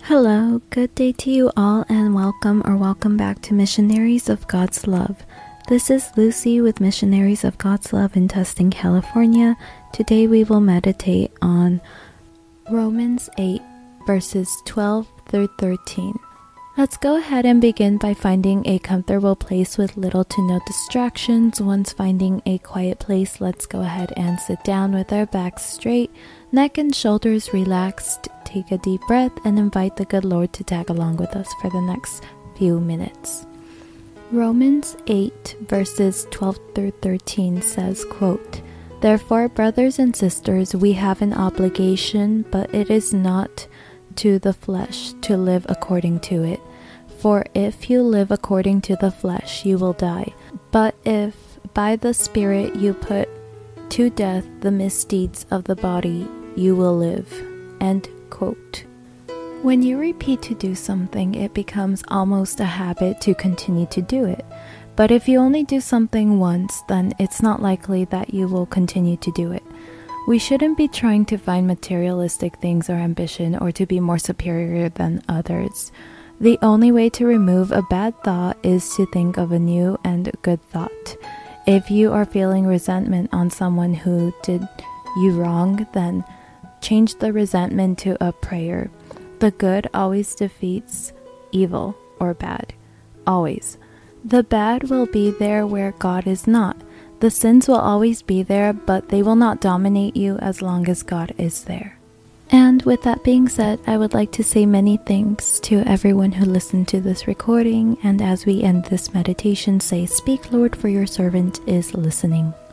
Hello, good day to you all, and welcome back to Missionaries of God's Love. This is Lucy with Missionaries of God's Love in Tustin, California. Today we will meditate on Romans 8, verses 12 through 13. Let's go ahead and begin by finding a comfortable place with little to no distractions. Once finding a quiet place, let's go ahead and sit down with our backs straight, neck and shoulders relaxed. Take a deep breath and invite the good Lord to tag along with us for the next few minutes. Romans 8 verses 12 through 13 says, quote, "Therefore, brothers and sisters, we have an obligation, but it is not to the flesh to live according to it. For if you live according to the flesh, you will die. But if by the Spirit you put to death the misdeeds of the body, you will live." End quote. When you repeat to do something, it becomes almost a habit to continue to do it. But if you only do something once, then it's not likely that you will continue to do it. We shouldn't be trying to find materialistic things or ambition or to be more superior than others. The only way to remove a bad thought is to think of a new and good thought. If you are feeling resentment on someone who did you wrong, then change the resentment to a prayer. The good always defeats evil or bad. Always. The bad will be there where God is not. The sins will always be there, but they will not dominate you as long as God is there. And with that being said, I would like to say many thanks to everyone who listened to this recording. And as we end this meditation, say, "Speak, Lord, for your servant is listening."